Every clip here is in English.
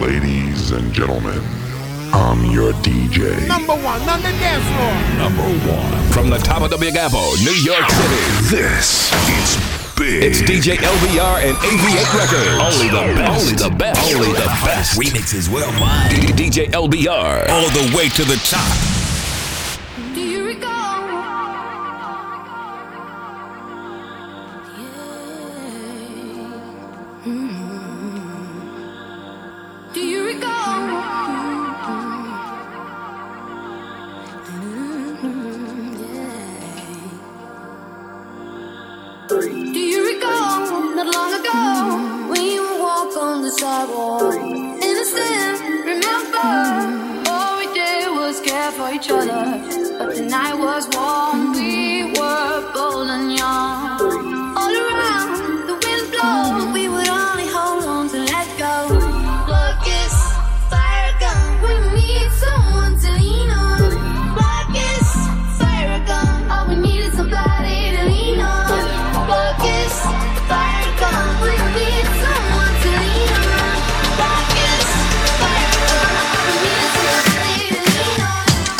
Ladies and gentlemen, I'm your DJ. Number one on the dance floor. Number one. From the top of the Big Apple, New York City. This is big. It's DJ LBR and AV8 Records. Only the best. Only the best. Only the best. Remixes worldwide. DJ LBR. All the way to the top. Do you recall? Do you recall? Do you recall? Not long ago, when you would walk on the sidewalk, innocent, remember, all we did was care for each other. But the night was warm, we were bold and young. All around, the wind blows, we would only hold on to let go. Blood kiss, fire gun, we need someone to lean on. Blood kiss, fire gun, all we need is somebody to lean on. Blood kiss, fire gun, we need someone to lean on. Blood kiss, fire gun, we need somebody to lean on.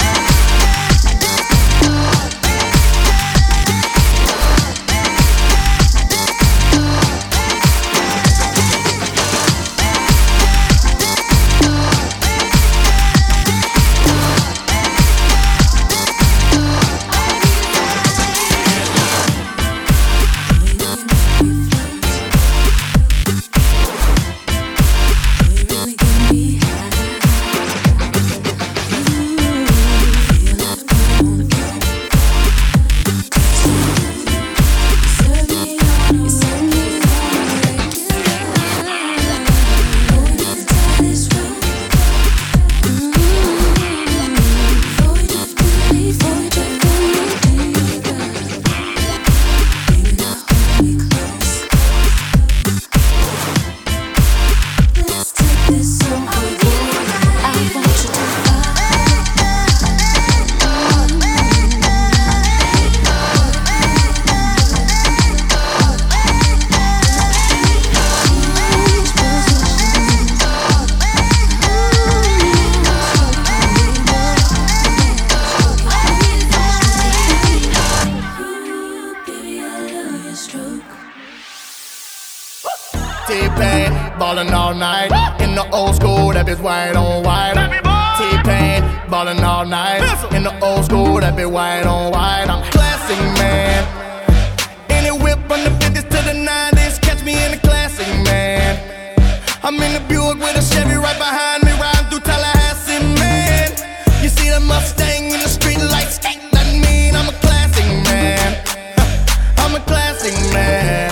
T-Pain, ballin' all night. In the old school, that bitch white on white. T-Pain, ballin' all night. In the old school, that bitch white on white. I'm a classic man. Any whip from the 50s to the 90s, catch me in the classic man. I'm in the Buick with a Chevy right behind me, riding through Tallahassee, man. You see the Mustang in the street lights, that mean I'm a classic man. I'm a classic man.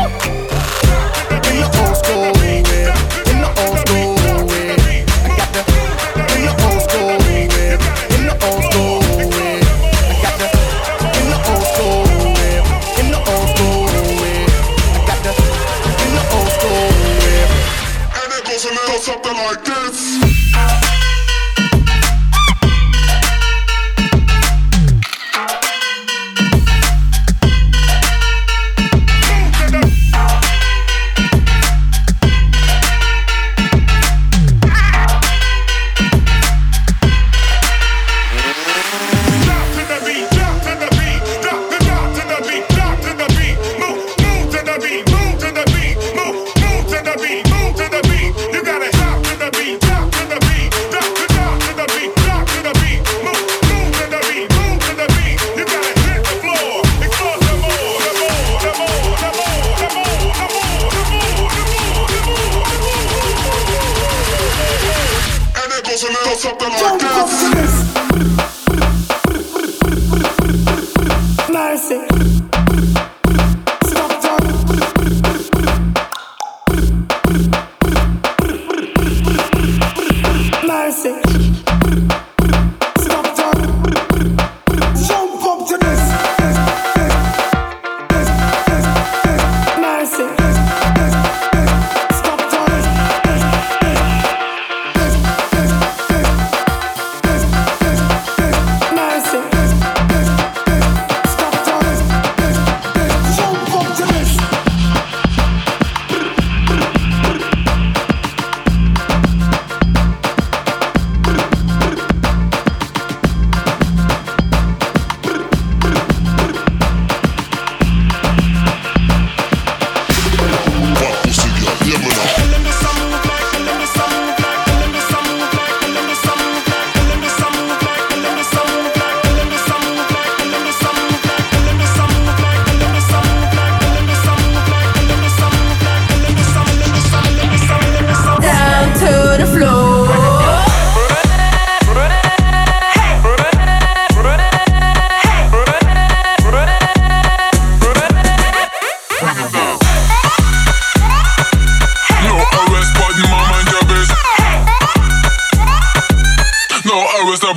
In the old school way, in the old school way. I got the in the old school way, in the old school way. I got the in the old school way, in the old school way. I got the in the old school way. And it goes a little something like this. Something like this. Mercy. Stop Mercy. Stop jump up to this. Mercy. Stop.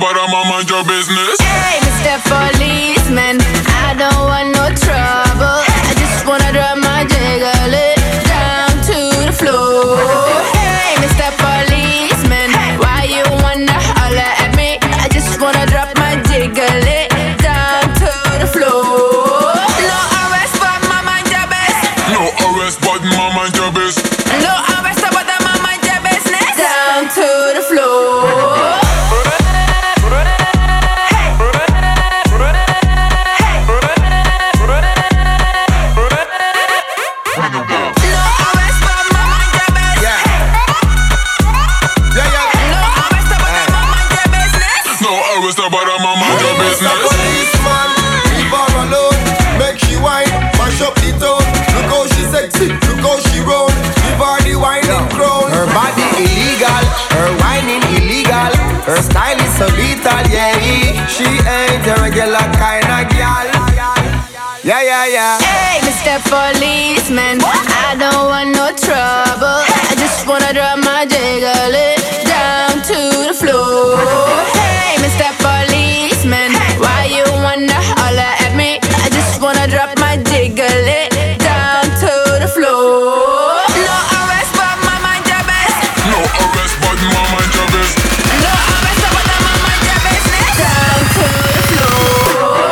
but I'm mind your business. Hey, Mr. Policeman, I don't want no trouble. I just wanna drop my jiggle it down to the floor. Hey, Mr. Policeman, why you wanna holler at me? I just wanna drop my jiggle it down to the floor. No arrest, but my mind your best. No arrest, but my mind your business. No arrest, but my mind your business. Down to the floor. But I'm on my job business. Policeman, leave her alone. Make she whine, mash up the town. Look how she sexy, look how she roll. Give her the whining crown. Her body illegal, her whining illegal. Her style is so lethal, yeah. She ain't a regular kind of gal. Yeah, yeah, yeah. Hey, Mr. Policeman, I don't want no trouble. I just wanna drop my jiggle it down to the floor. Hey, Mr. Policeman, why you wanna holler at me? I just wanna drop my jiggle it down to the floor. No arrest, but my mind your best. No arrest, but my mind your business. No arrest, but my mind your business. Down to the floor.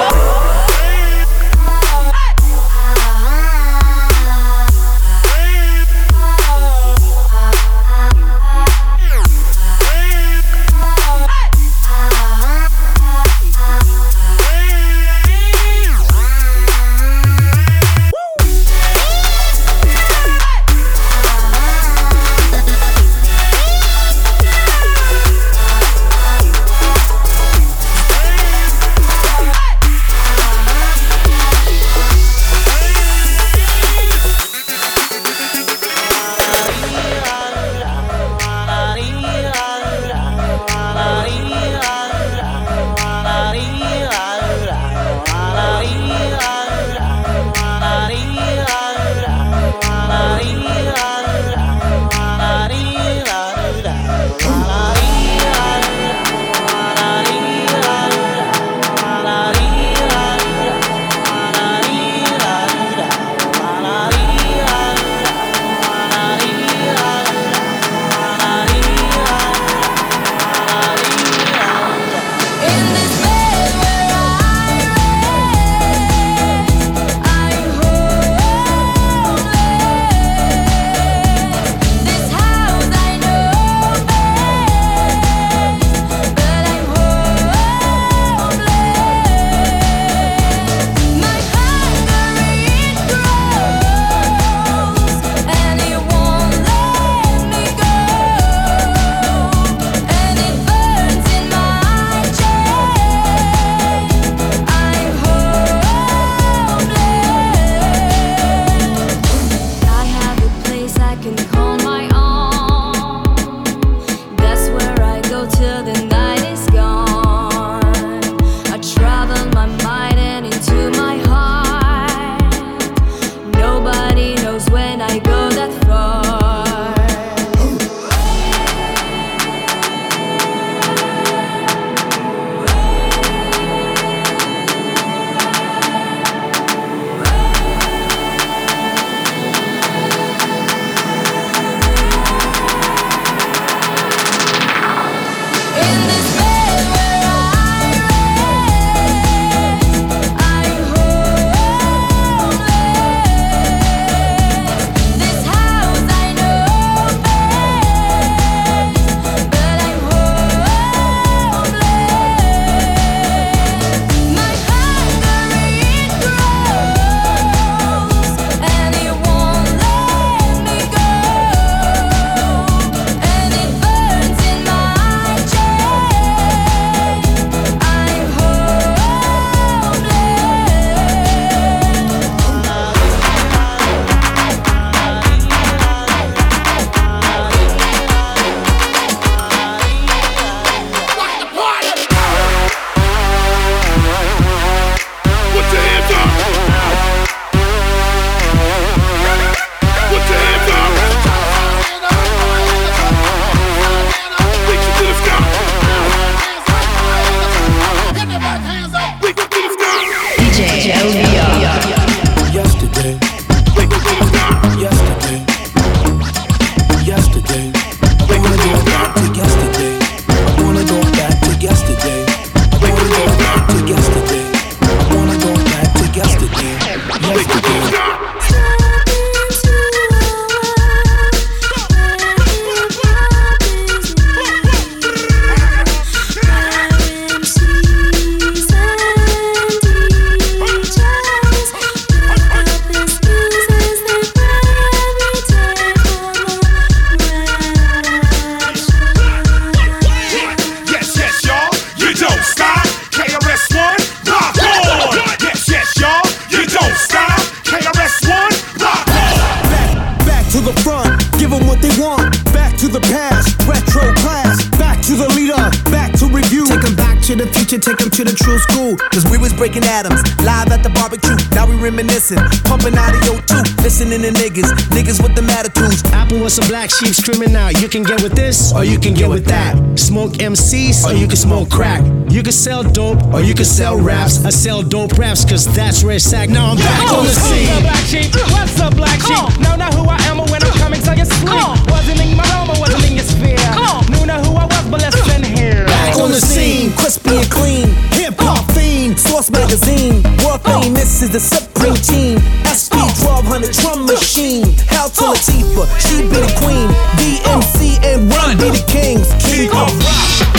retro class. Back to the leader, back to review. Take them back to the future, take them to the true school. Cause we was breaking atoms, live at the barbecue. Now we reminiscing, pumping out of your tooth. Listening to niggas with them attitudes. Apple with some black sheep screaming out. You can get with this, or you can get with that. Smoke MCs, or you can smoke crack. You can sell dope, or you can sell raps. I sell dope raps, cause that's where it's at. Now I'm back on the scene. What's up, black sheep? What's up, black sheep? Know not who I am or when I'm coming to your sleep. Wasn't in my realm or wasn't in your sphere. Knew not who I was, but listen here. Back on the scene, crispy and clean. Hip-hop fiend, Source Magazine. World famous is the Supreme Team. SP 1200 drum machine. Hell to Latifah, she be the queen. DMC and Run be the kings. King of rock.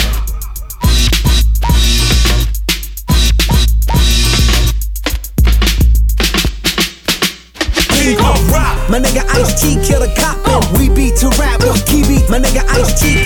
My nigga Ice-T kill a cop and we beat to rap with key beat. My nigga Ice-T.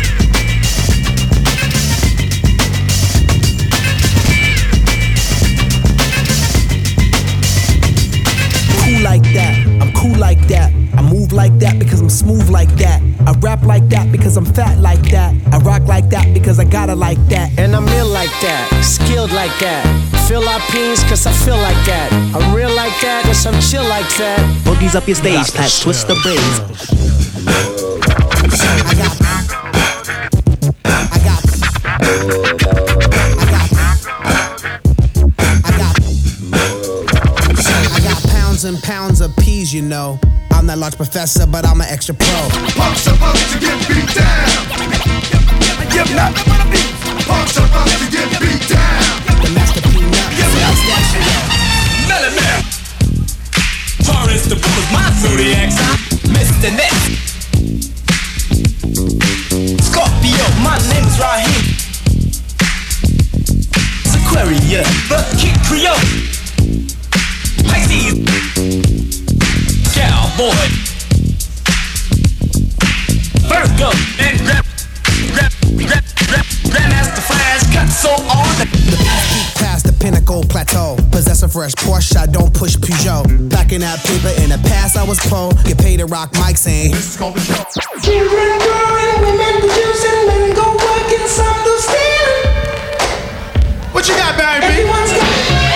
Cool like that, I'm cool like that. I move like that because I'm smooth like that. I rap like that because I'm fat like that. I rock like that because I got it like that. And I'm ill like that, skilled like that. Philippines cause I feel like that. I'm real like that cause I'm chill like that. Boogies up your stage, patch, twist the braids. I got pounds and pounds of peas, you know. I'm that large professor, but I'm an extra pro. Punks are about to get beat down. Give not punks are about to get beat down. The Master Peanut. Millionaire. Taurus, the book is my zodiac sign. Mr. Next. Scorpio, my name's Raheem. Aquarius, the Kid Creole. Pisces. Cowboy. Virgo and Grandmaster Flash cut so on. The peak past the pinnacle plateau. Possess a fresh Porsche, I don't push Peugeot. Packing that paper in the past, I was pro. Get paid to rock mics and this is gonna be dope. Children growing, women producing, men go working, some do stealing. What you got, baby? Everyone's got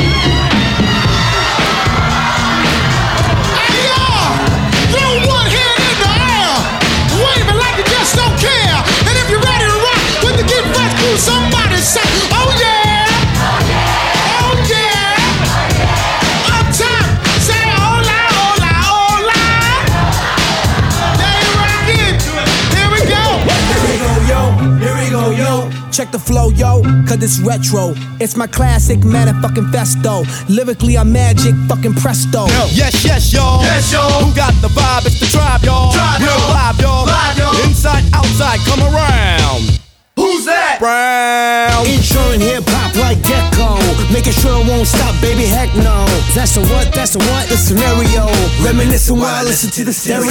somebody say, oh yeah, oh yeah, up top, say hola, hola, hola. There you rock it, here we go. Here we go, yo, here we go, yo. Check the flow, yo, cause it's retro. It's my classic manifesto. Lyrically, I'm magic, fucking presto. Yo. Yes, y'all. Yes, y'all. Who got the vibe? It's the tribe, y'all. Real live, y'all. Live, y'all. Inside, outside, come around. Who's that? Brown. Insuring hip-hop like Gecko. Making sure it won't stop, baby, heck no. That's the what, that's the what? The scenario. Reminiscing while I listen to the stereo.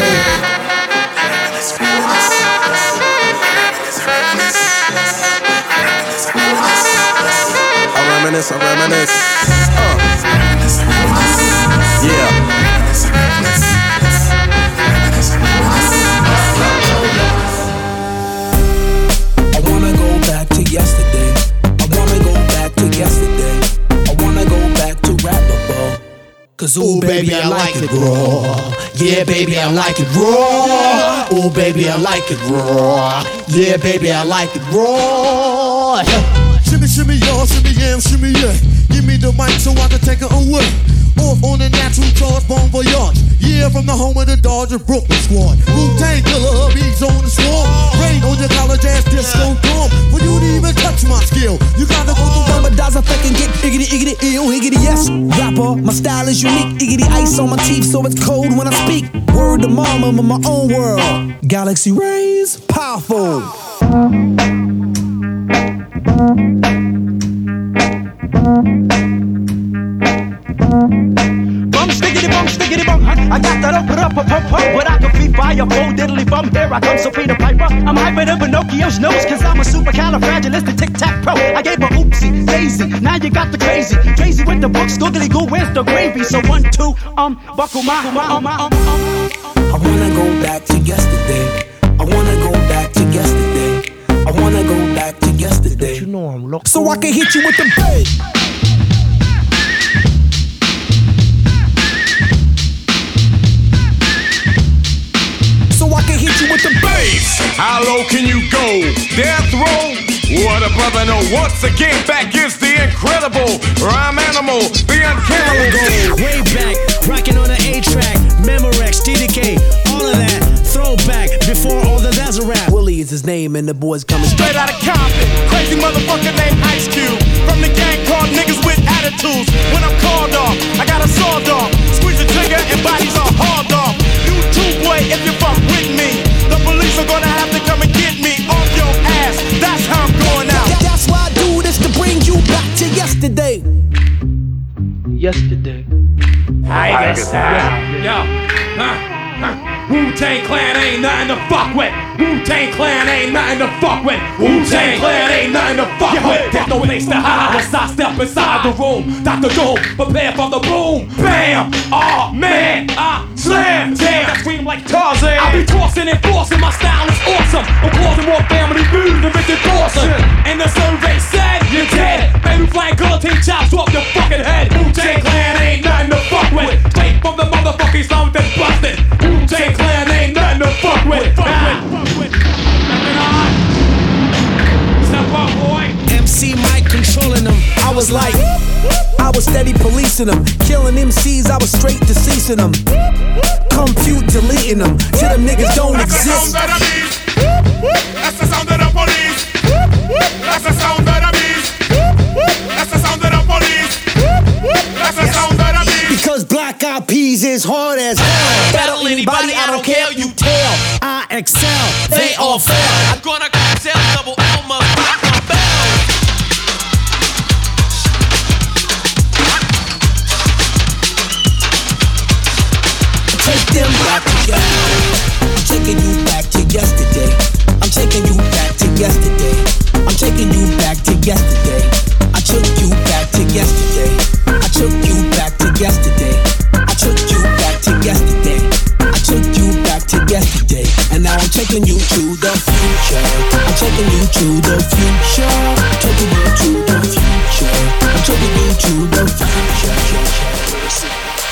I reminisce. Yeah. Yesterday, I wanna go back to yesterday. I wanna go back to rappable. Cause ooh baby I like it raw. Yeah baby I like it raw. Ooh baby I like it raw. Yeah baby I like it raw. Shimmy, shimmy, y'all, shimmy, yam, shimmy, yeah. Give me the mic so I can take it away. Off on the natural charge, bon voyage. Yeah, from the home of the Dodger Brooklyn squad. Wu-Tang Killer, beats on the swarm. Rain on your college ass disco dorm. For you to even touch my skill, you gotta go through Ramadas, I fucking get iggity, iggity, ill, iggity, yes. Rapper, my style is unique. Iggity ice on my teeth, so it's cold when I speak. Word to mama, I'm in my own world. Galaxy rays, powerful. Bum, stickity bum. I got that up, but I can be fireball, diddly bum. Here I come, Sophia Piper. I'm hyper than Pinocchio's nose, cause I'm a supercalifragilistic tic-tac-pro. I gave her oopsie, daisy, now you got the crazy. Crazy with the books, googly goo, where's the gravy? So 1, 2, buckle my. I wanna go back to yesterday. I wanna go back to yesterday. loco. So I can hit you with the bass. So I can hit you with the bass. How low can you go? Death row? What a brother know. Once again, back is the incredible rhyme animal, the uncannibal. Way back, rocking on the A-track, Memorex, DDK, all of that. Throwback, before all the that's a rap. Willie is his name and the boys coming Straight out of Compton, crazy motherfucker named Ice Cube. From the gang called niggas with attitudes. When I'm called off, I got a sawed off. Squeeze the trigger and bodies are hauled off. You too, boy, if you fuck with me. The police are gonna have to come and get me off your ass. That's how I'm going out. That's why I do this, to bring you back to yesterday. Yesterday. I guess Wu-Tang Clan ain't nothing to fuck with. Wu-Tang Clan ain't nothing to fuck with. Wu-Tang Clan ain't nothing to fuck with. There's no place to hide once I step inside the room. Dr. Doom, prepare for the boom. Bam! Oh man, I slam jam. I scream like Tarzan. I be tossing and forcing, my style is awesome. I'm causing more family food than Richard Dawson. And the survey said you're dead. Baby flying guillotine chops off your fucking head. Wu-Tang Clan ain't nothing to fuck with. Straight from the motherfucking sound that's busted. Wu-Tang Clan ain't nothing to fuck with. Step up, boy. MC Mike controlling them. I was steady policing them. Killing MCs, I was straight deceasing them. Compute deleting them. Till them niggas don't exist. That's the sound of the police. That's the sound of the beast. That's the sound of the police. That's the sound of the beast. Because Black Eyed Peas is hard as hell. Battle anybody, I don't care, you tell. I excel, they all fail. I'm gonna sell double Elma, rock my bell. Take them back together. I'm taking you back to yesterday. I'm taking you back to yesterday. I'm taking you back to yesterday. I took you back to yesterday. I took you back to yesterday. I took you back to yesterday. I took you back to yesterday. And now I'm taking you to the future. I'm taking you to the future. Taking you to the future. I'm taking you to the future.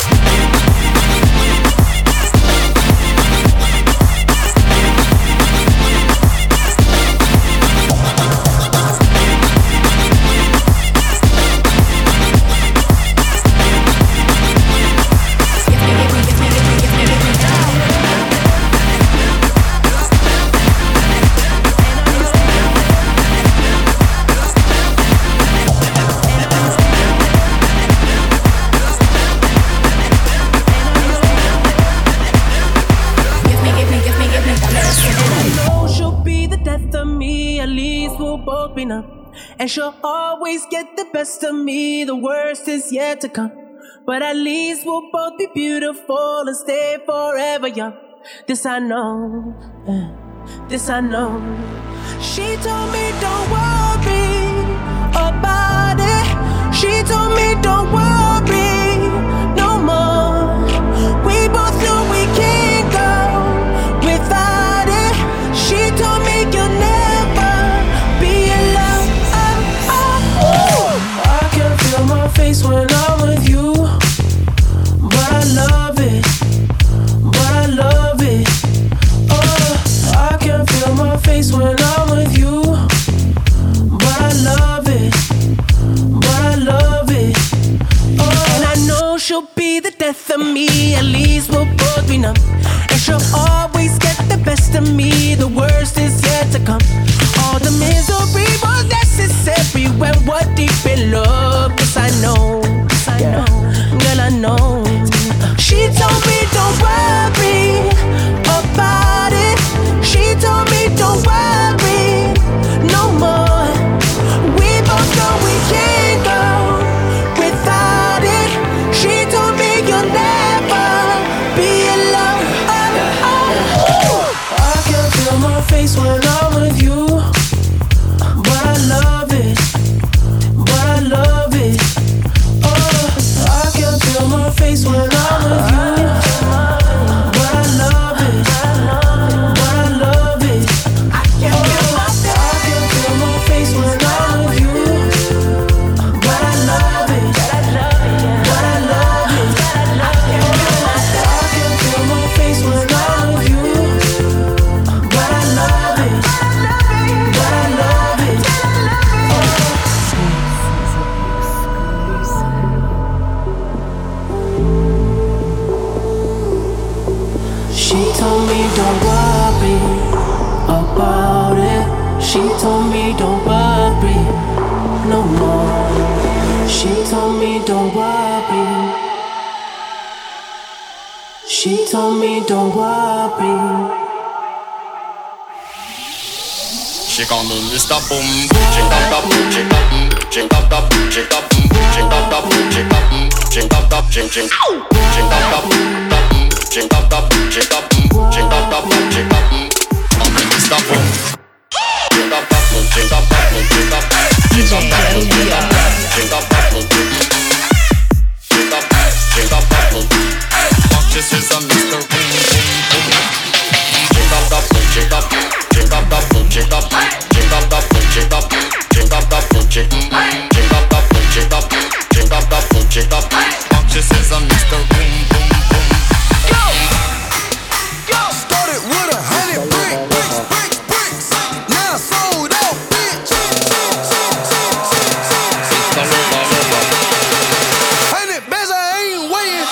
And she'll always get the best of me. The worst is yet to come. But at least we'll both be beautiful and stay forever young. This I know. This I know. She told me don't worry about it. She told me don't worry no more. We both know we can't go without it. She told me you'll never be alone. I can feel my face when I'm with you, but I love it, but I love it. Oh, I can feel my face when I'm with you, but I love it, but I love it. Oh, and I know she'll be the death of me. At least we'll both be numb. And she'll always get the best of me. The worst is yet to come. All the misery was necessary when we're deep in love. Yes, I know, girl, I know. She told me don't worry about it. She told me don't worry no more. We both know we can't go without it. She told me you'll never be alone. I can feel my face when I'm with you. She told me don't worry no more. She told me don't worry. She told me don't worry. She call me Mr. Boom. Ching up up, ching up, ching up up, ching up, ching up up, ching up, ching up up, ching ching, ching up up, ching up up, ching up, ching up up, ching up. Call me Mr. Boom. Ching up up, ching up up, ching up, ching up up, ching up, ching up up, ching up, ching up up. Fuck, this is a Mr. Boom. Ching up up, ching up. Ching up up, ching up, ching up up, ching up, ching up up, ching up up, ching up, ching up up, ching up. Functions is a Mr. Boom Boom Boom. Yo, started with 100 bricks. Now sold out, bitch. 100 bands, I ain't waiting.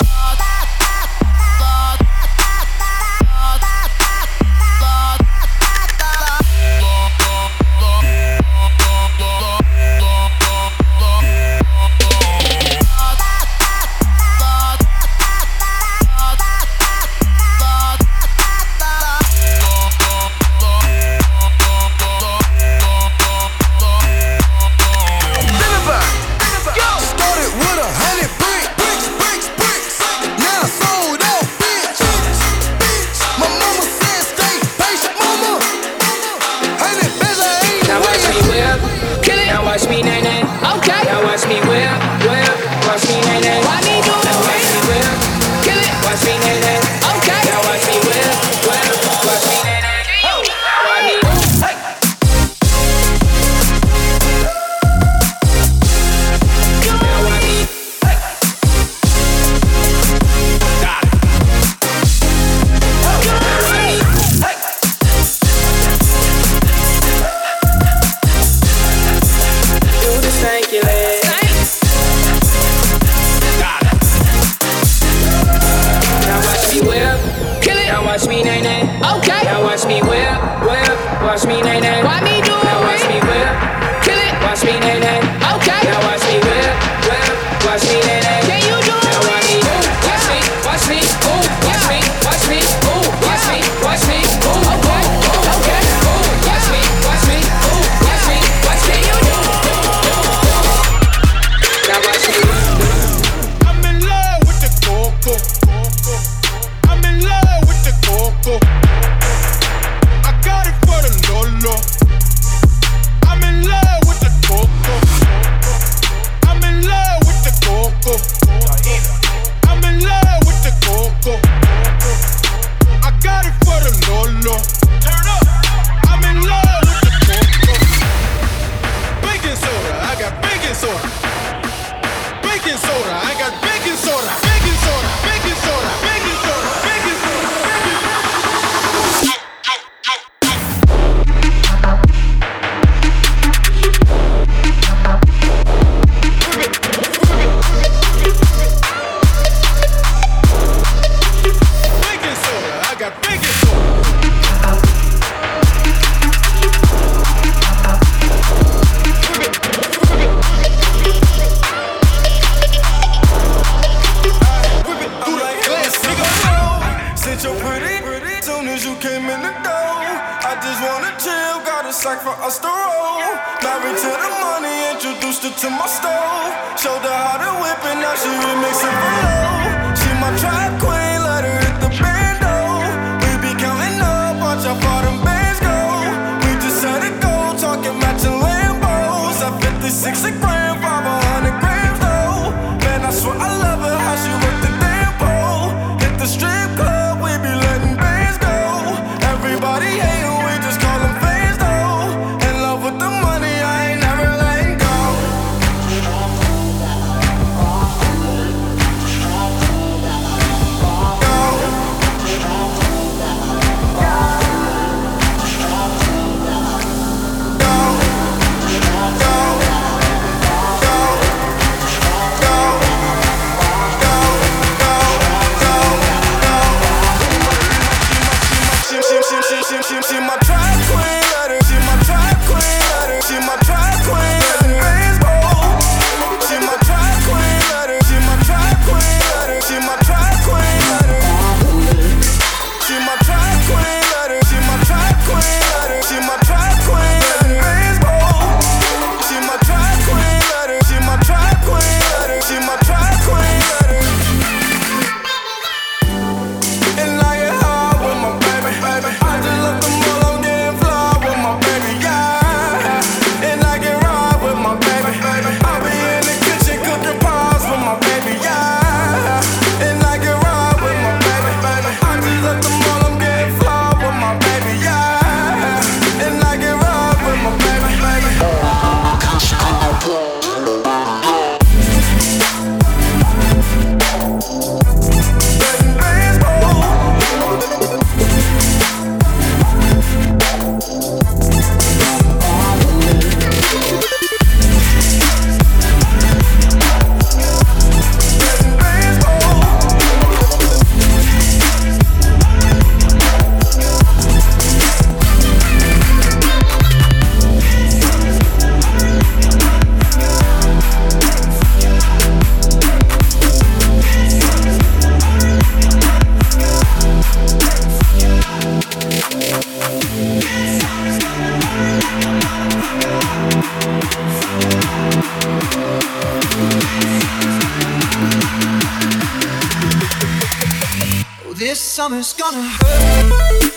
summer's gonna hurt.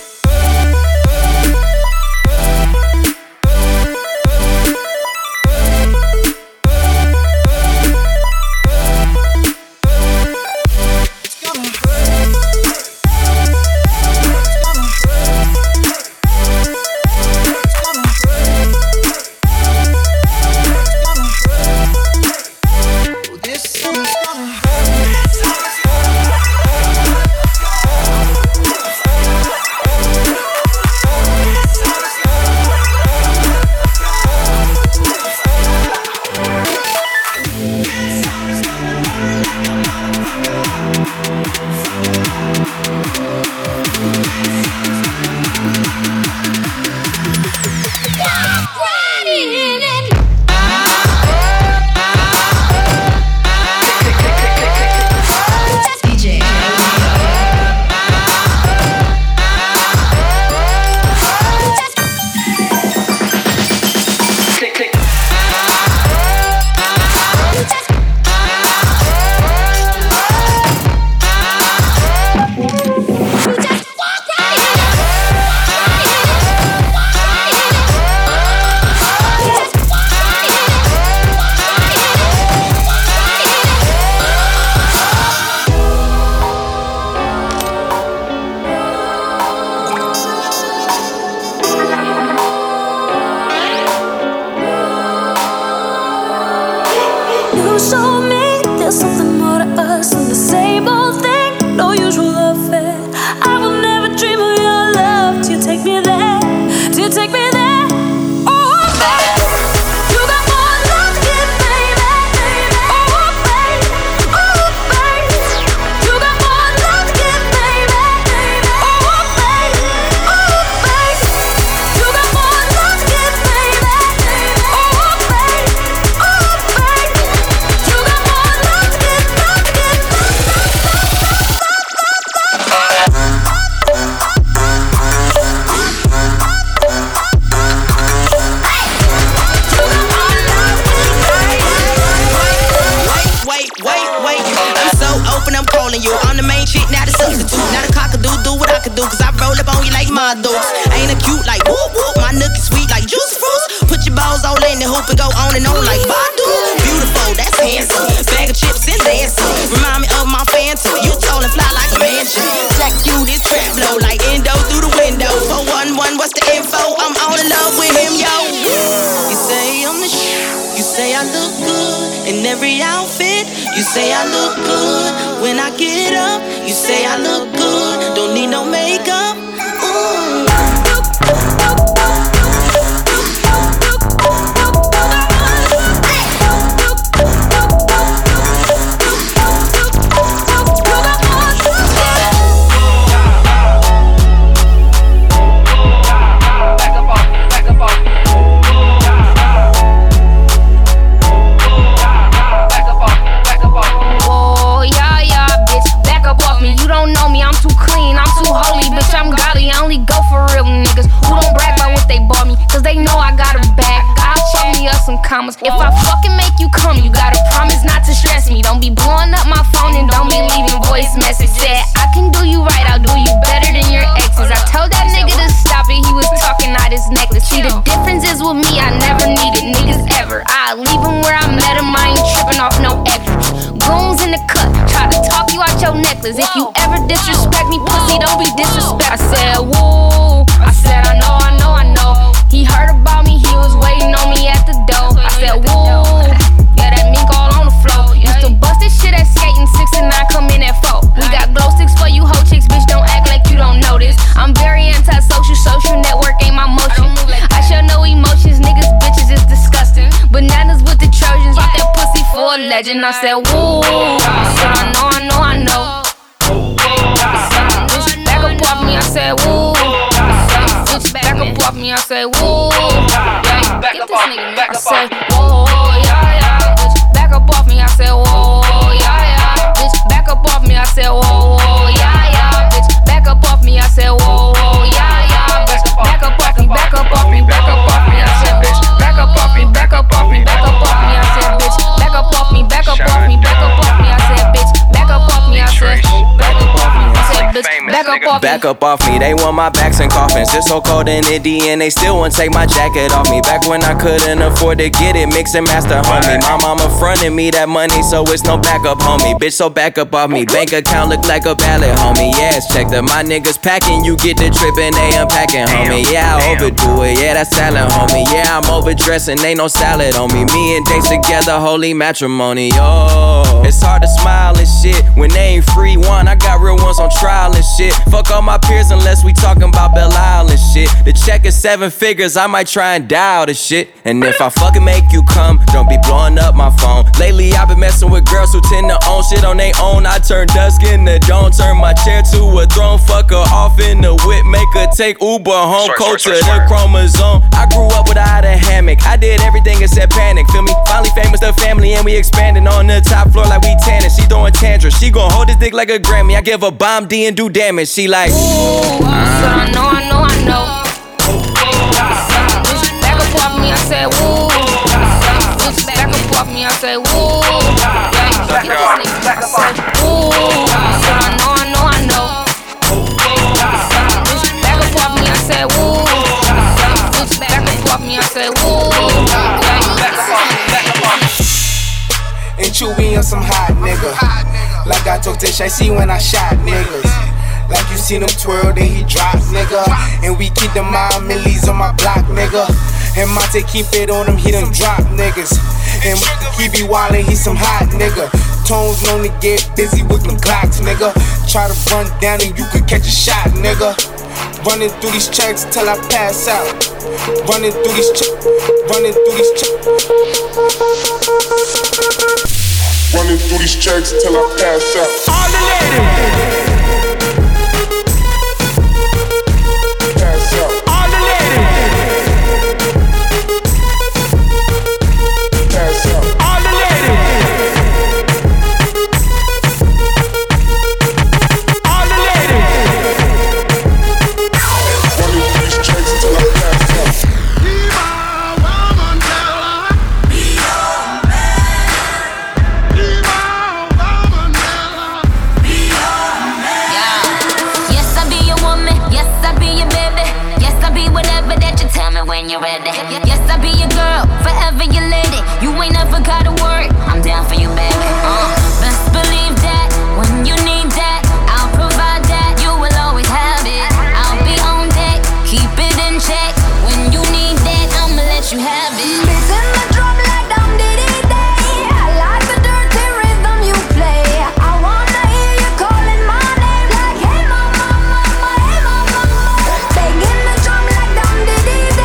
If I fucking make you come, you gotta promise not to stress me. Don't be blowing up my phone and don't be leaving voice message. Said I can do you right, I'll do you better than your exes. I told that nigga to stop it, he was talking out his necklace. See, the difference is with me, I never needed niggas ever. I leave him where I met him, I ain't tripping off no extras. Goons in the cut, try to talk you out your necklace. If you ever disrespect me, pussy, don't be disrespect. I said, woo, I said, I know. He heard about me, he was waiting on me at the door. I said, woo, yeah, that mink all on the floor. Used to bust this shit at skating, 6 and 9 come in at 4. We got glow sticks for you hoe chicks, bitch, don't act like you don't know this. I'm very antisocial, social network ain't my motion. I show no emotions, niggas, bitches is disgusting. Bananas with the Trojans, off that pussy for a legend. I said, woo, I said, I know. Back up off me, I said, woo. Back up off me, I say, whoa, yeah, get this nigga, I say, whoa, yeah, bitch, back up off me, I say, whoa, yeah, bitch, back up off me, I say, whoa, yeah, bitch, back up off me, I say, whoa, yeah, bitch, back up off me, back up off me, back up off me, I say, bitch, back up off me, back up off me, back up off me, I say, bitch, back up off me, back up off me, back up off me, I say, bitch, back up off me, I say, back up off me, I say, bitch, back up back up off me. They want my backs and coffins. It's so cold in Indy and they still won't take my jacket off me. Back when I couldn't afford to get it, mix and master, homie. My mama fronted me that money, so it's no backup, homie. Bitch, so back up off me. Bank account look like a ballot, homie. Yes, check that my niggas packing. You get the trip and they unpacking, homie. Yeah, I overdo it. Yeah, that's salad, homie. Yeah, I'm overdressing. Ain't no salad on me. Me and Dates together, holy matrimony. Oh, it's hard to smile and shit when they ain't free one. I got real ones on trial and shit. Fuck all my peers unless we talking about Belle Isle and shit. The check is 7 figures. I might try and dial the shit. And if I fucking make you come, don't be blowing up my phone. Lately I've been messing with girls who tend to own shit on they own. I turn dusk into dawn, turn my chair to a throne. Fuck her off in the whip, make her take Uber home. Cold to the chromosome. I grew up without a hammock. I did everything except panic. Feel me? Finally famous, the family, and we expanding on the top floor like we tanning. She throwing tantrums. She gon' hold this dick like a Grammy. I give her bomb D and do damage. She like, ooh, I know. Back up off me, I said, woo. Back up off me, I said, woo. I said, woo. I know. Back up off me, I said, woo. Back up off me, I said, woo. And Chewy on some hot nigga. Like I talked to Shy when I shot niggas. Like you seen him twirl, then he drop, nigga. And we keep the mile millies on my block, nigga. And Monte keep it on him, he done drop niggas. And he be wildin', he some hot nigga. Tones known to get busy with them Glocks, nigga. Try to run down and you could catch a shot, nigga. Running through these checks till I pass out. Running through these checks. Running through these checks till I pass out. All the ladies. Pass out. All the ladies. Pass out. All the ladies. All the ladies. Running through these checks till I pass out. When you're ready. Yes, I'll be your girl, forever your lady. You ain't never gotta worry, I'm down for you, baby. Best believe that, when you need that, I'll provide that. You will always have it. I'll be on deck, keep it in check. When you need that, I'ma let you have it. Beats in the drum like Dum Diddy Day. I like the dirty rhythm you play. I wanna hear you calling my name like, hey mama, mama, hey mama. Banging the drum like Dum Diddy Day.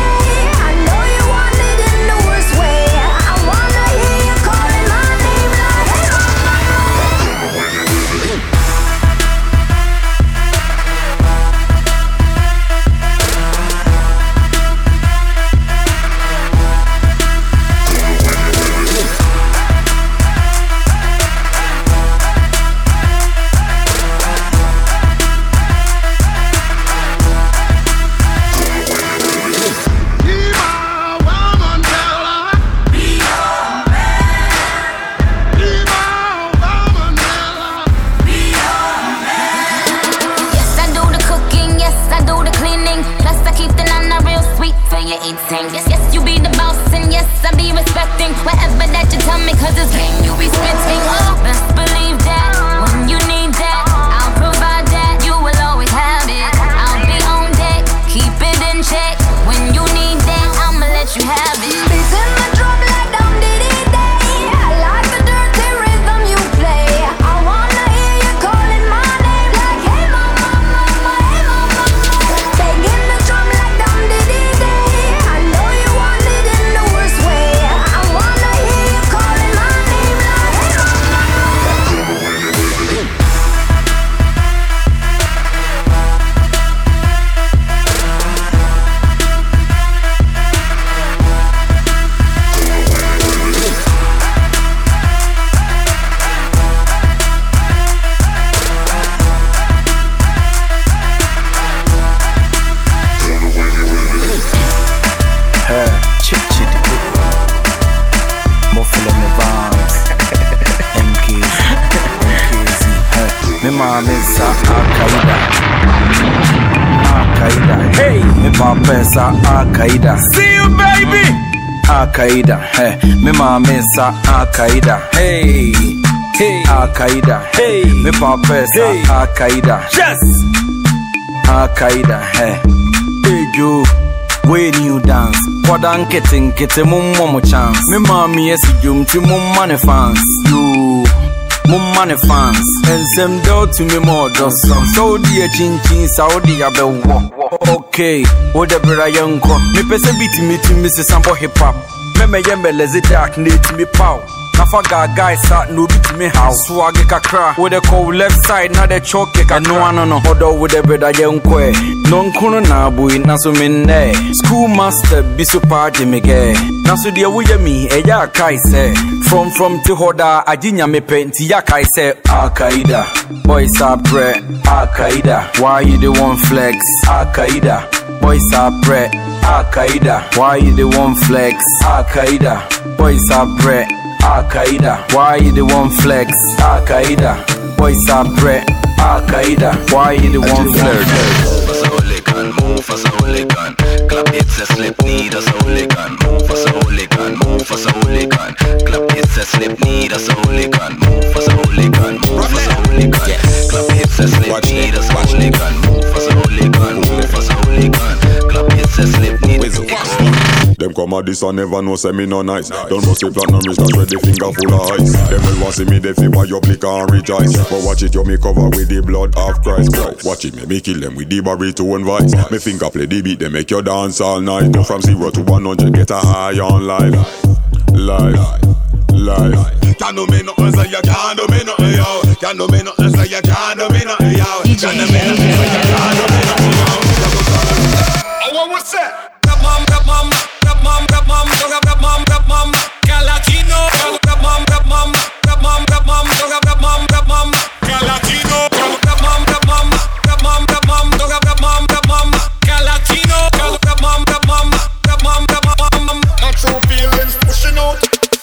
Yes, you be the boss, and yes, I be respecting whatever that you tell me, cause it's game you be spitting. Best believe that, when you need that, I'll provide that. You will always have it. I'll be on deck, keep it in check. When you need that, I'ma let you have it. Beats in the drum like Dum Diddy Day. I like the dirty rhythm you play. I wanna hear you calling my name like, hey mama, mama, hey mama. Banging the drum like Dum Diddy Day. My mom is Al Qaeda. Akaida. Hey, me papa sa Akaida. See you, baby. Akaida. Hey, me mama sa Akaida. Hey, hey, Akaida. Hey, me papa sa Akaida. Yes. Akaida. Hey, hey, you. When you dance, Podan kitting mum momo chance. Me mommy yes you to mum money fans. You mum money fans. And some do to me more does. So dear chin Saudi abe wo. Okay, what the brother young co. Me pese beat me to Mrs. Sambo hip hop. Me yembe lazy dark need to me pow. Nafaga guys sat no beat me how. Swag kakra with the cold left side na the choke ka no one no hodo with the brother young kwe. Non kuno na boy na so minne. Schoolmaster be so party me ge. Na so de wo yemi e ya kai say. From to hoda ajinya me penti ya kai say Akaida. Boys are pre Akaida. Why you the one flex Akaida? Boys are pre Akaida. Why you the one flex Akaida? Boys are pre Akaida. Why you the one flex Akaida? Boys are pre Akaida. Why you the one flex? Move as a hooligan, clap it's a slip need as a hooligan. Move as a hooligan, move as a hooligan, clap it's a slip need as a hooligan. Move as a hooligan, move as a hooligan, clap it's a slip need as a hooligan. Move as a hooligan, move as a hooligan, clap it's a slip need as a hooligan. Them come at this and never know say me no nice. Don't must say platinum wrist and ready finger full of ice. Them will want see me they feel buy your liquor and rejoice. But watch it you me cover with the blood of Christ. Watch it me kill them with the barrito and vice. Me finger play the beat they make you dance all night. Go from 0 to 100 get a high on life. Can't do me nothing say you can't do me nothing yo. Can't do me nothing say you can't do me nothing yo. Can't do me nothing say you can't do me nothing yo. Oh what's that? Rap mom, Galatino, rap mom, Galatino, my true feelings pushing out.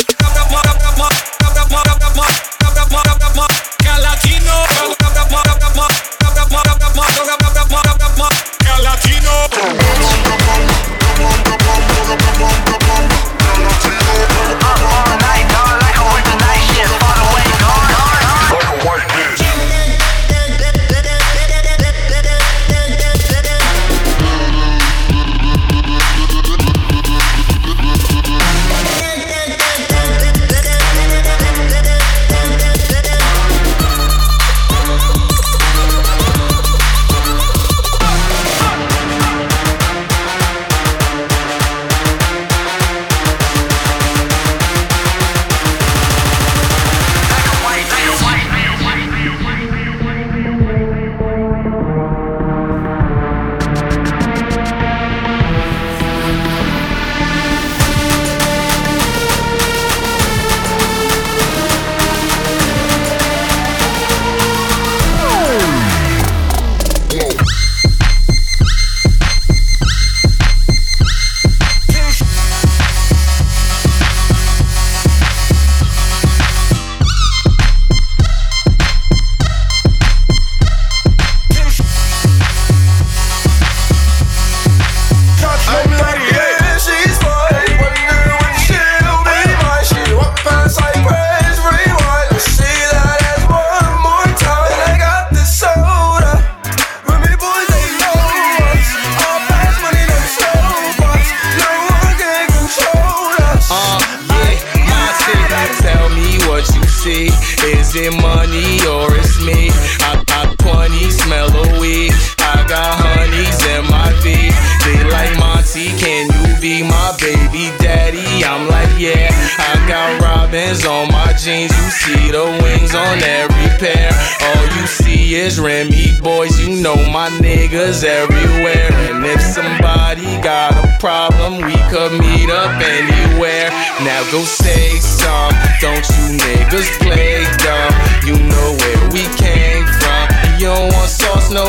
it money or it's me? I punny, smell a weed. I got honeys in my V. They like Monty, can you be my baby daddy? I'm like, yeah. I got robins on my jeans. You see the wings on every pair. All you see is Remy boys. You know my niggas everywhere. And if somebody got a problem, we could meet up anywhere. Now go say some. Don't you niggas play dumb. You know where we came from. You don't want sauce, no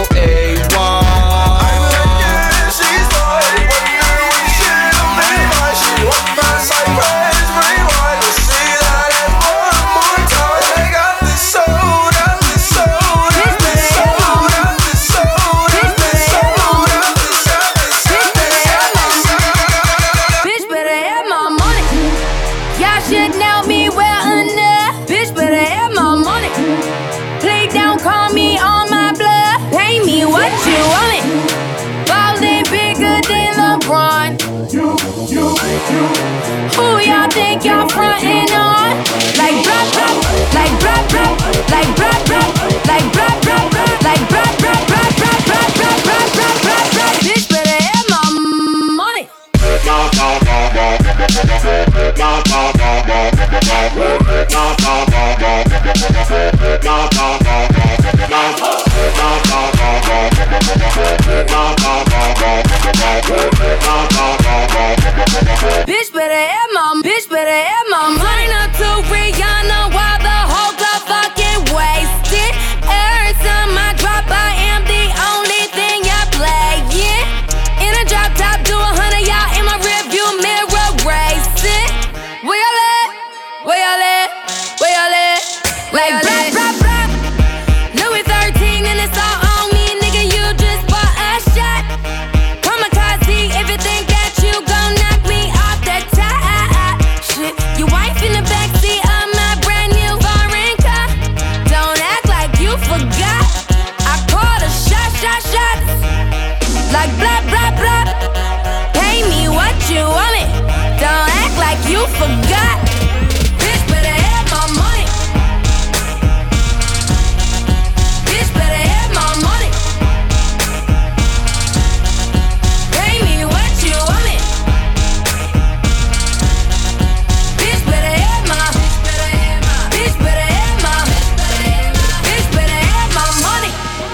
A1. should know me well enough. Bitch, better have my money. Play down, call me on my bluff. Pay me what you want it. Ballin' bigger than LeBron. Who y'all think y'all frontin' on? Like brap brap, like brap brap, like brap brap, like brap brap, like brap brap brap brap brap brap brap brap brap brap. Bitch, better have my money. Bitch better have my money. Up to Rihanna while the whole club fucking wasted. Every time I drop, I am the only thing y'all playing. In a drop top, do 100 y'all in my rearview mirror racing. Where y'all at? Where y'all at? Where y'all at? Like brap brap brap. Louis 13 and it's all on me, nigga. You just bought a shot. Kamikaze if you think that you gon' knock me off the top. Shit, your wife in the backseat of my brand new foreign car. Don't act like you forgot. I called a shot. Like blah blah blah. Pay me what you want it. Don't act like you forgot. Bitch better have my money. Bitch better have my money. Pay me what you want it. Bitch better have my. Bitch better have my. Bitch better have my money.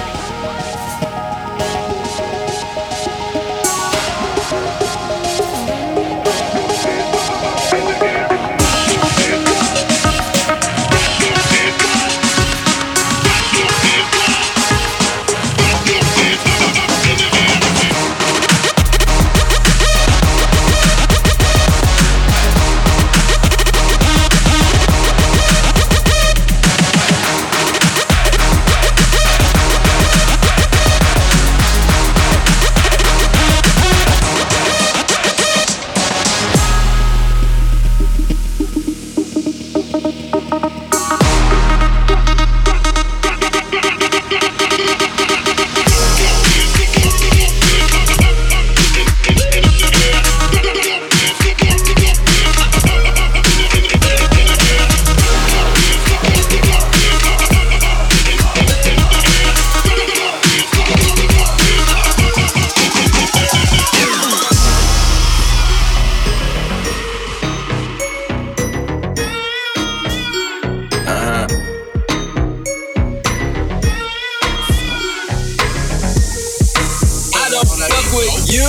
You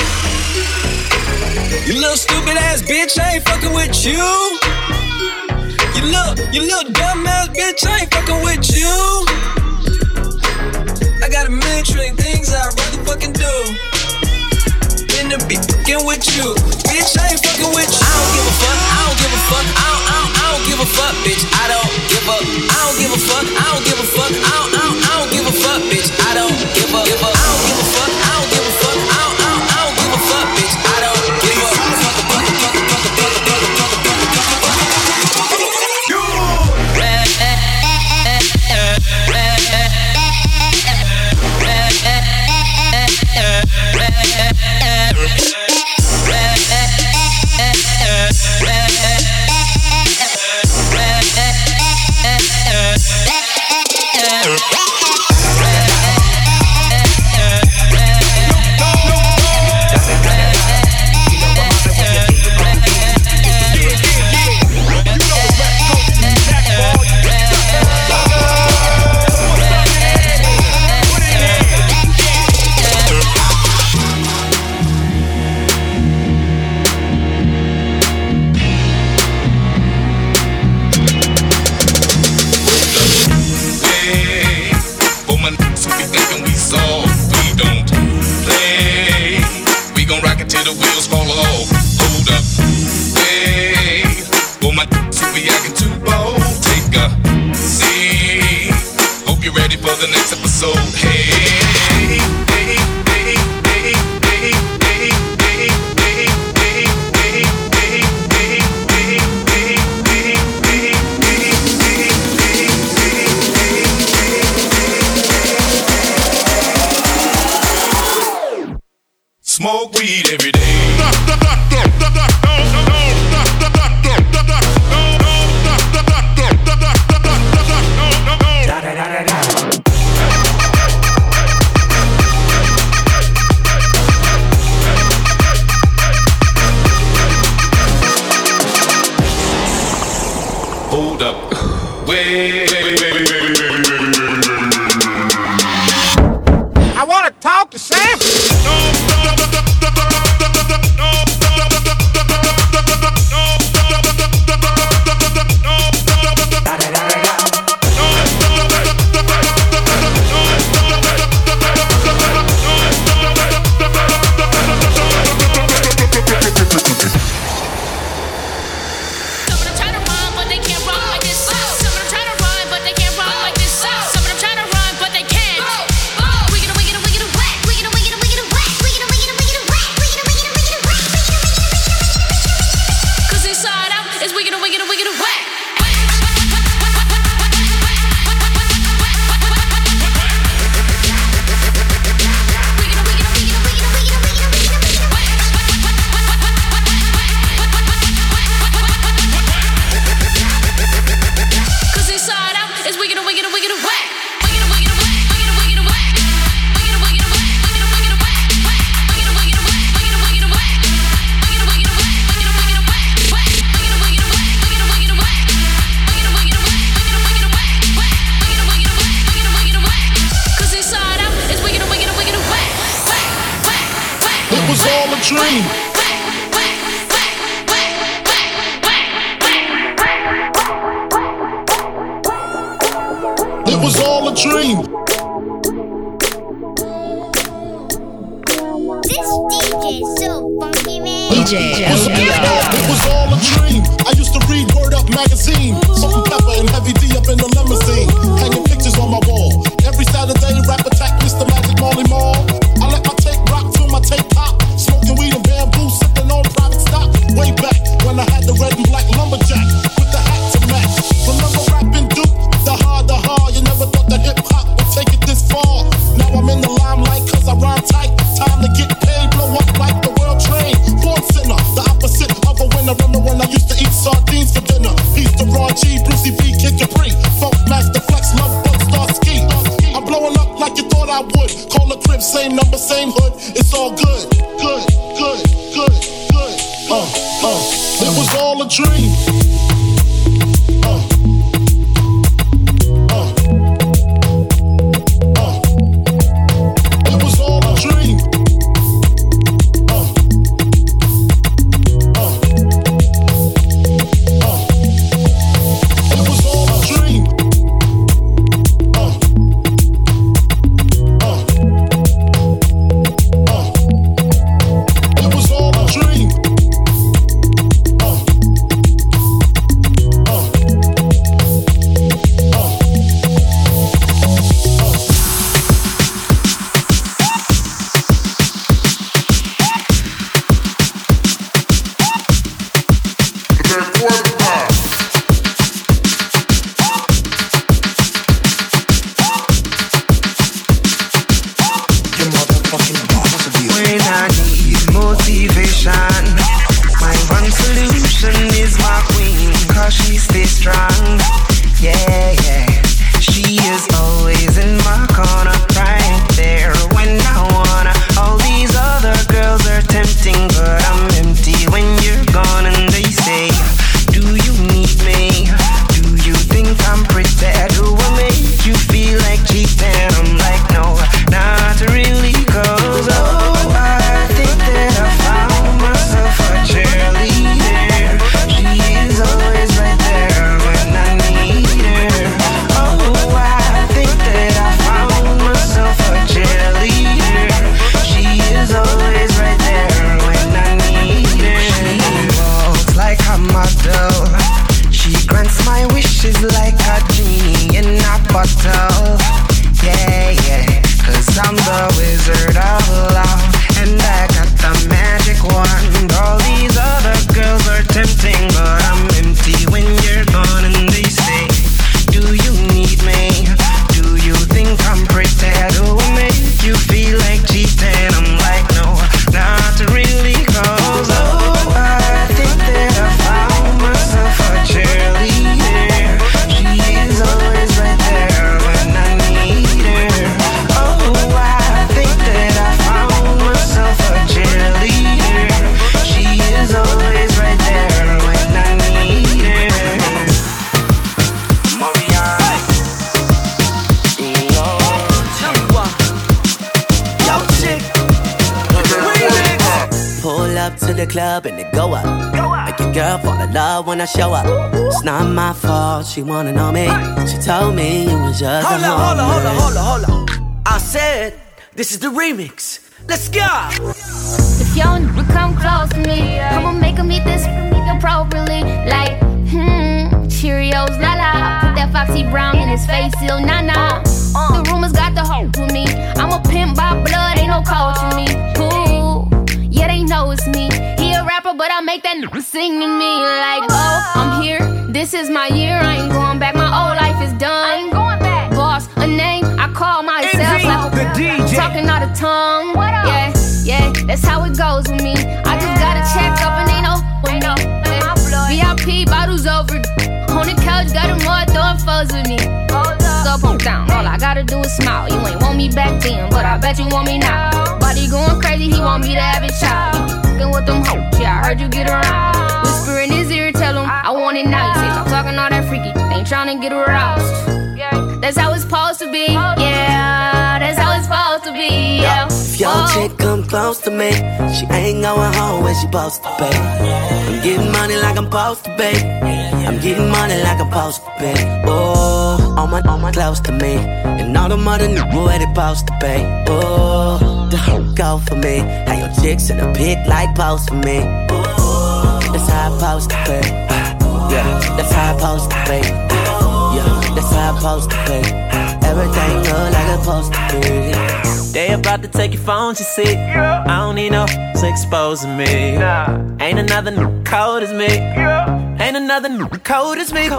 little stupid ass bitch, I ain't fucking with you. You little dumb ass bitch, I ain't fucking with you. I got a million trillion things I'd rather fucking do than to be fucking with you. Bitch, I ain't fucking with you. I don't give a fuck, I don't give a fuck, I don't give a fuck, bitch. I don't give up. I don't give a fuck, I don't give a fuck, I don't give a fuck, bitch. I don't give up. I don't give a fuck, I don't give a fuck, I don't give a fuck, bitch. I don't give up. The next episode, hey, hey, hey, hey, hey, hey, hey, hey, hey, hey, hey, hey, hey, hey. weed every day. Hold up. Wait. I want to talk to Sam. To the club and it go up. Make your girl fall in love when I show up. It's not my fault, she wanna know me. She told me it was just Hold a on. I said, this is the remix. Let's go. If y'all never come close to me, I'ma make them eat this appropriately. Like, Cheerios, la la. Put that Foxy Brown in his face, still nah nah. The rumors got the hope with me. I'm a pimp by blood, ain't no coaching me. Ooh, yeah, they know it's me. He a rapper, but I make that nigga sing to me. Like, oh, I'm here, this is my year. I ain't going back, my old life is done. I ain't going back. Boss, a name, I call myself. Like, the DJ. Talking out of tongue. Yeah, that's how it goes with me. I just gotta check up and ain't no with me. VIP bottles over. On the couch, got them all throwing foes with me. Go pump down, all I gotta do is smile. You ain't want me back then, but I bet you want me now. Body going crazy, he want me to have a child. You f***ing with them hoes, yeah, I heard you get around. Whisper in his ear, tell him I want it now. You say stop talking all that freaky, ain't tryna get aroused. That's how it's supposed to be, yeah. That's how it's supposed to be, yeah. If your chick come close to me, she ain't going home when she supposed to pay. I'm getting money like I'm supposed to pay. I'm getting money like I'm supposed to pay. Oh, all my close to me, and all the mother niggas where they supposed to pay. Oh, the whole go for me. How your chicks in a pit like post for me. Oh, that's how I'm supposed to pay. Yeah, that's how I'm supposed to pay. Yeah, that's how I'm supposed to pay. Everything look like it's supposed to be. They about to take your phone, you see. I don't need no exposing me. Ain't another new cold as me. Ain't another new cold as me.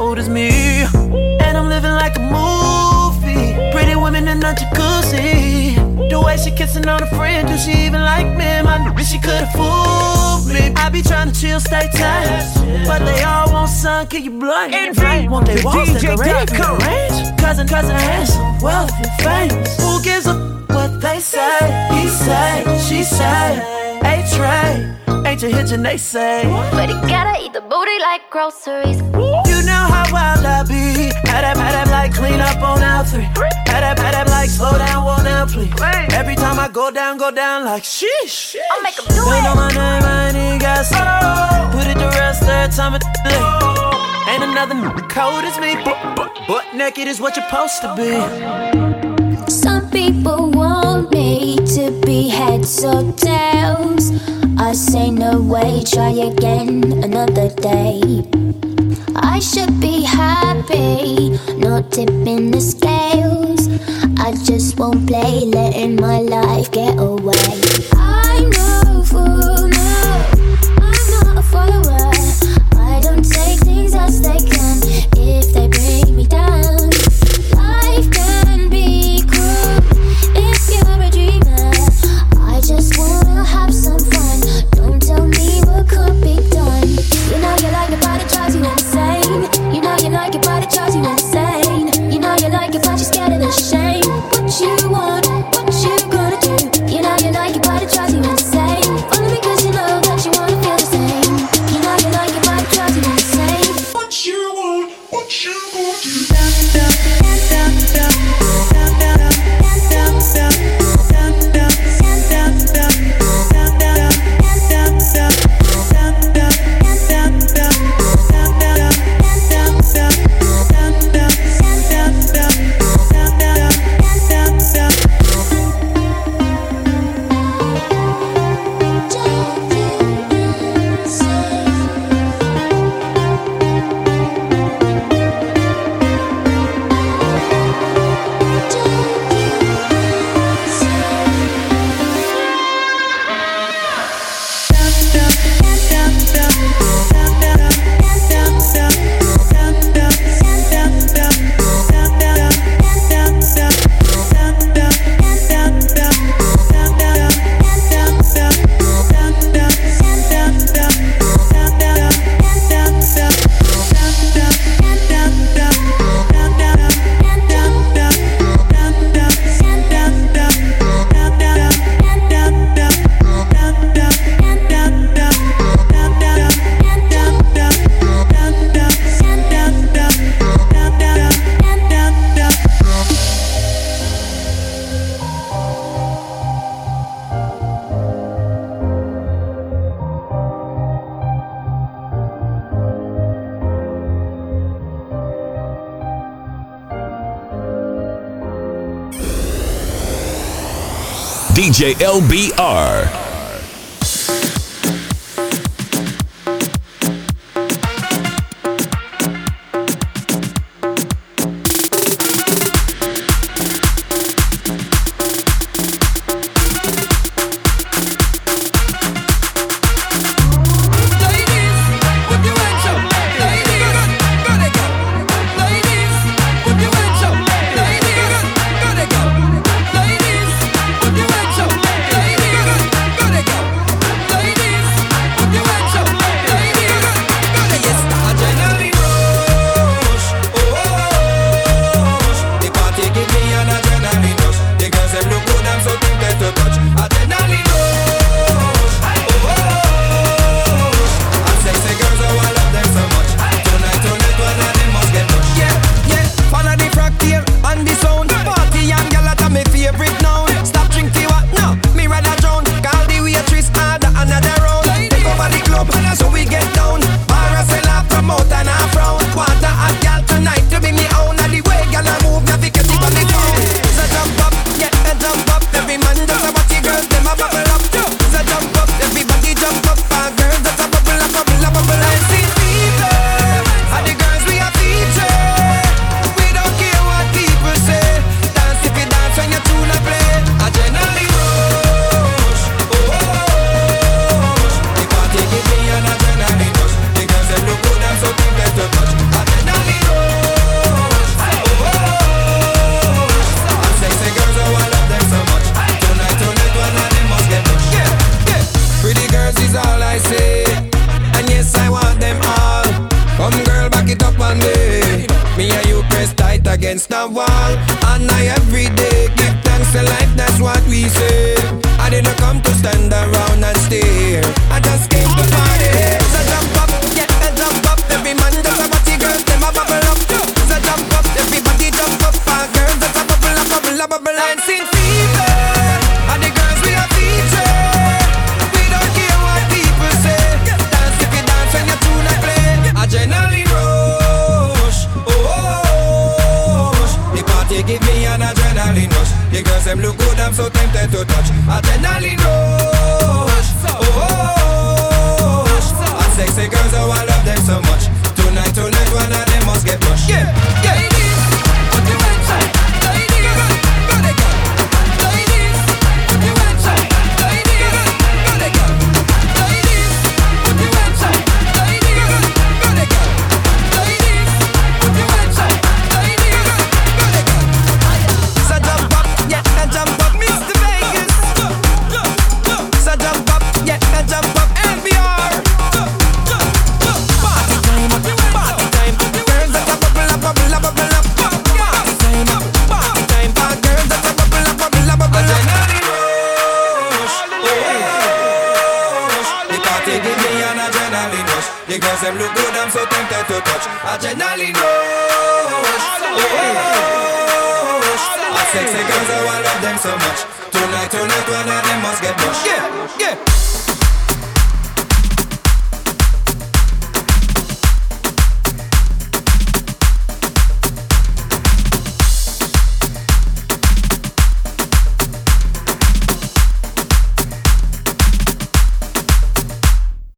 And I'm living like a movie. Pretty women in a jacuzzi. The way she kissing on a friend, do she even like me? My nigga, she could've fooled me. I be trying to chill, stay tight, but they all want sun, kill you blind. Want they walls decorated in range? Cousin handsome, wealthy, famous. Who gives a what they say? He say, she say, A-Train. Ain't you hitching, they say. But he gotta eat the booty like groceries. You know how wild I be. Had that like clean up on L3. Had that like slow down, whoa down, please. Every time I go down like sheesh. I'll make him do They it. know my name, I ain't even got to put it to rest every time it ain't another cold as me. Butt naked is what you're supposed to be. Some people want me to be heads or tails. I say no way, try again another day. I should be happy, not tipping the scales. I just won't play, letting my life get away. I'm no fool, no, I'm not a follower. I don't take things as they come if they bring me down. Life can be cruel if you're a dreamer. I just wanna have some fun. Don't tell me what could be done. You know you like it, but it drives you insane. You know you like it, but it drives you insane. You know you like it, but you're scared of the shame. What you want, what you gonna do? You know you like DJ LBR. Against the wall, and I every day give thanks to life, that's what we say. I didn't come to stand around and stare, I just came to party. So jump up, yeah, jump up. Every man just a party, girls, them a bubble up. So jump up, everybody jump up. Our girls just a bubble up, bubble up, bubble up. And sing fever, and the girls we a feature. We don't care what people say. Dance if you dance when your tune I play. Adrenaline rush, they give me an adrenaline rush. The girls them look good, I'm so tempted to touch. Adrenaline rush, and sexy girls, oh I love them so much. Tonight, one of them must get pushed. Yeah, yeah. Ladies, put your hands up. Ladies, go they go. Ladies, put your hands up. Ladies, go they go. Ladies, put your hands up. Ladies, go they go. Ladies, put your hands up. Ladies, go they go. So jump up, yeah, jump up, Mr. Vegas. So jump up, yeah, jump up, LBR. Party time, girls that a bubble up, bubble up, bubble up. Party time, girls that a bubble up, bubble up, bubble up. Adrenaline rush, the party give me an adrenaline rush. The girls them look good, I'm so tempted to touch. Adrenaline rush, sexy girls, oh I love them so much. Tonight, one of them must get pushed. Yeah, yeah.